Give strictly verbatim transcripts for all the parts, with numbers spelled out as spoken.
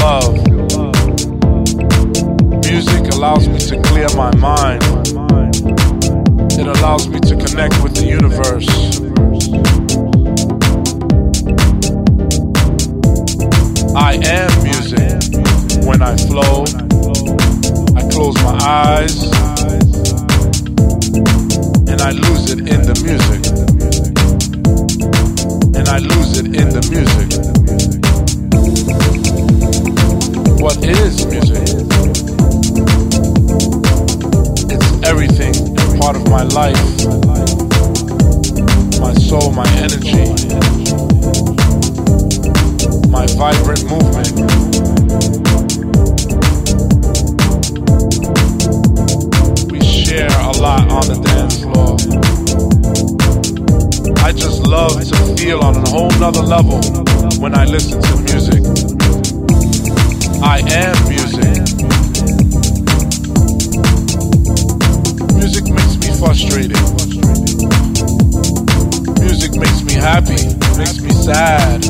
love. Music allows me to clear my mind. It allows me to connect with the universe. I am music. When I flow, I close my eyes and I lose it in the music. And I lose it in the music. What is music? It's everything, part of my life, my soul, my energy, my vibrant movement. We share a lot on the dance floor. I just love to feel on a whole nother level when I listen to music. I am music. Music makes me frustrated. Music makes me happy, makes me sad.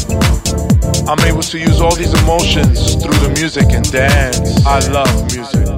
I'm able to use all these emotions through the music and dance. I love music.